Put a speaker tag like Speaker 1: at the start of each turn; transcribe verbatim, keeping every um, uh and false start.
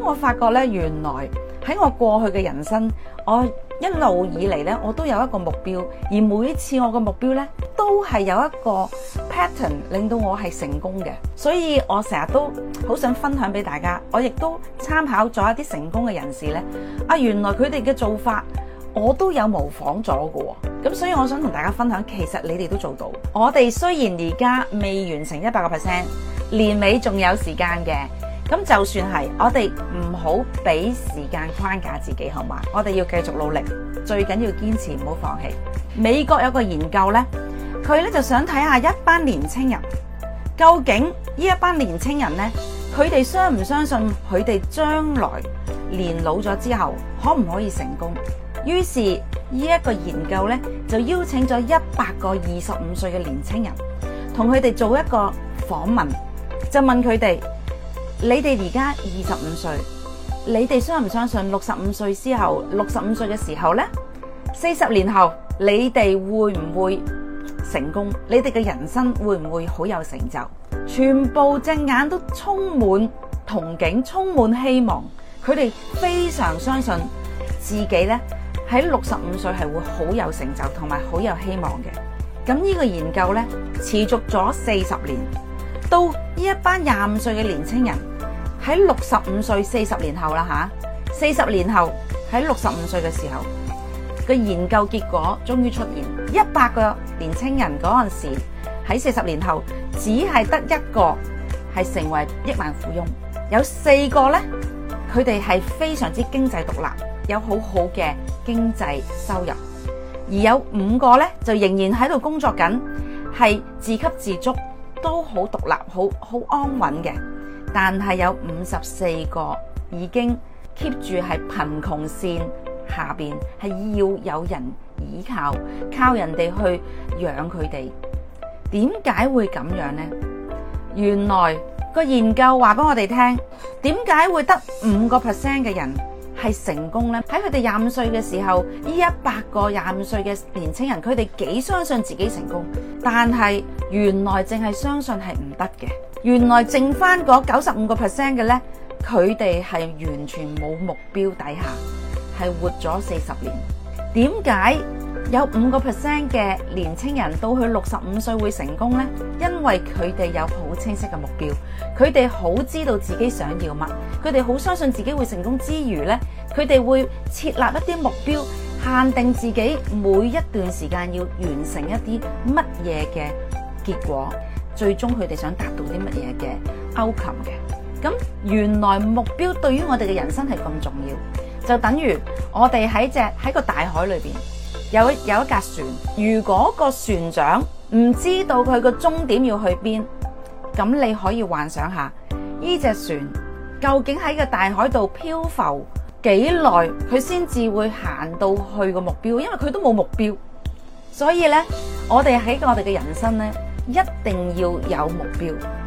Speaker 1: 我發覺咧，原來喺我過去嘅人生，我一路以嚟咧，我都有一個目標，而每一次我嘅目標咧，都係有一個 pattern 令到我係成功嘅。所以我成日都好想分享俾大家，我亦都參考咗一啲成功嘅人士咧。啊，原來佢哋嘅做法，我都有模仿咗嘅。咁所以我想同大家分享，其實你哋都做到。我哋雖然而家未完成一百個 percent，年尾仲有時間嘅。咁就算係，我哋唔好俾時間框架自己，好嘛？我哋要繼續努力，最緊要堅持，唔好放棄。美國有個研究呢，佢咧就想睇下一班年青人，究竟呢一班年青人呢，佢哋相唔相信佢哋將來年老咗之後可唔可以成功？於是呢一個研究呢，就邀請咗一百個二十五歲嘅年青人，同佢哋做一個訪問，就問佢哋。你哋而家二十五歲，你哋相唔相信六十五歲之後，六十五歲嘅時候呢，四十年後你哋會唔會成功？你哋嘅人生會唔會好有成就？全部隻眼都充滿憧憬，充滿希望。佢哋非常相信自己呢，喺六十五歲係會好有成就同埋好有希望嘅。咁呢個研究呢，持續咗四十年。到呢一班廿五歲嘅年青人喺六十五歲，四十年後啦吓，四十年後喺六十五歲嘅時候，個研究結果終於出現，一百個年青人嗰陣時喺四十年後，只係得一個係成為億萬富翁，有四個呢，佢哋係非常之經濟獨立，有好好嘅經濟收入，而有五個呢，就仍然喺度工作緊，係自給自足。都好獨立，好好安穩嘅，但係有五十四個已經 keep 住係貧窮線下邊，係要有人依靠，靠人哋去養佢哋。點解會咁樣呢？原來個研究話俾我哋聽，點解會得五個 percent 嘅人係成功呢？喺佢哋廿五歲嘅時候，呢一百個廿五歲嘅年青人，佢哋幾相信自己成功，但係原來淨係相信係唔得嘅。原來剩翻嗰九十五個 percent 嘅呢，佢哋係完全冇目標底下，係活咗四十年。點解有五個 percent 嘅年青人到去六十五歲會成功呢？因為佢哋有好清晰嘅目標，佢哋好知道自己想要乜，佢哋好相信自己會成功之餘呢，佢哋會設立一啲目標，限定自己每一段時間要完成一啲乜嘢嘅結果，最終佢哋想達到啲乜嘢嘅 outcome 嘅。咁原來目標對於我哋嘅人生係咁重要，就等於我哋喺隻喺個大海裏邊有有一架船，如果個船長唔知道佢個終點要去邊，咁你可以幻想下呢隻船究竟喺個大海度漂浮幾耐，佢先至會行到去個目標，因為佢都冇目標。所以呢，我哋喺我哋嘅人生呢，一定要有目標。